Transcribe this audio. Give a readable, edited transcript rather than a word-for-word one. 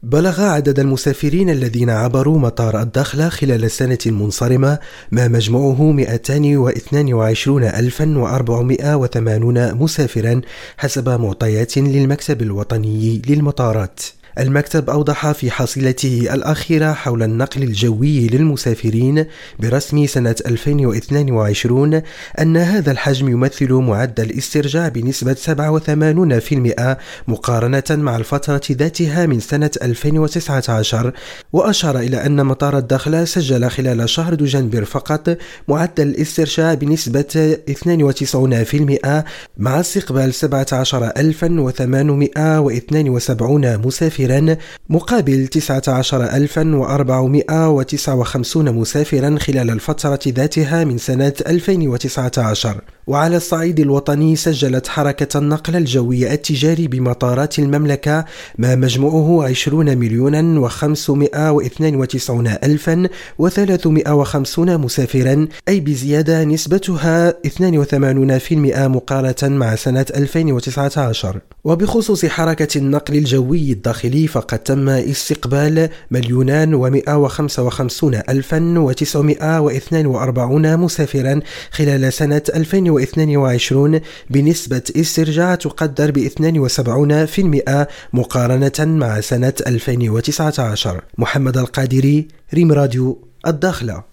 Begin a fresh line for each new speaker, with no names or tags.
بلغ عدد المسافرين الذين عبروا مطار الدخلة خلال السنة المنصرمة ما مجموعه 222,480 مسافرا حسب معطيات للمكتب الوطني للمطارات. المكتب أوضح في حصيلته الأخيرة حول النقل الجوي للمسافرين برسم سنة 2022 أن هذا الحجم يمثل معدل استرجاع بنسبة 87% مقارنة مع الفترة ذاتها من سنة 2019، وأشار إلى أن مطار الدخلة سجل خلال شهر دجنبر فقط معدل الاسترجاع بنسبة 92% مع استقبال 17,872 مسافرا مقابل 19,459 مسافرا خلال الفترة ذاتها من سنة 2019. وعلى الصعيد الوطني سجلت حركة النقل الجوي التجاري بمطارات المملكة ما مجموعه 20,592,350 مسافرا، أي بزيادة نسبتها 82% مقارنة مع سنة 2019. وبخصوص حركة النقل الجوي الداخلي فقد تم استقبال 2,155,942 مسافرا خلال سنة 2022 بنسبة استرجاع تقدر ب 72% مقارنة مع سنة 2019. محمد القادري، ريم راديو، الداخلة.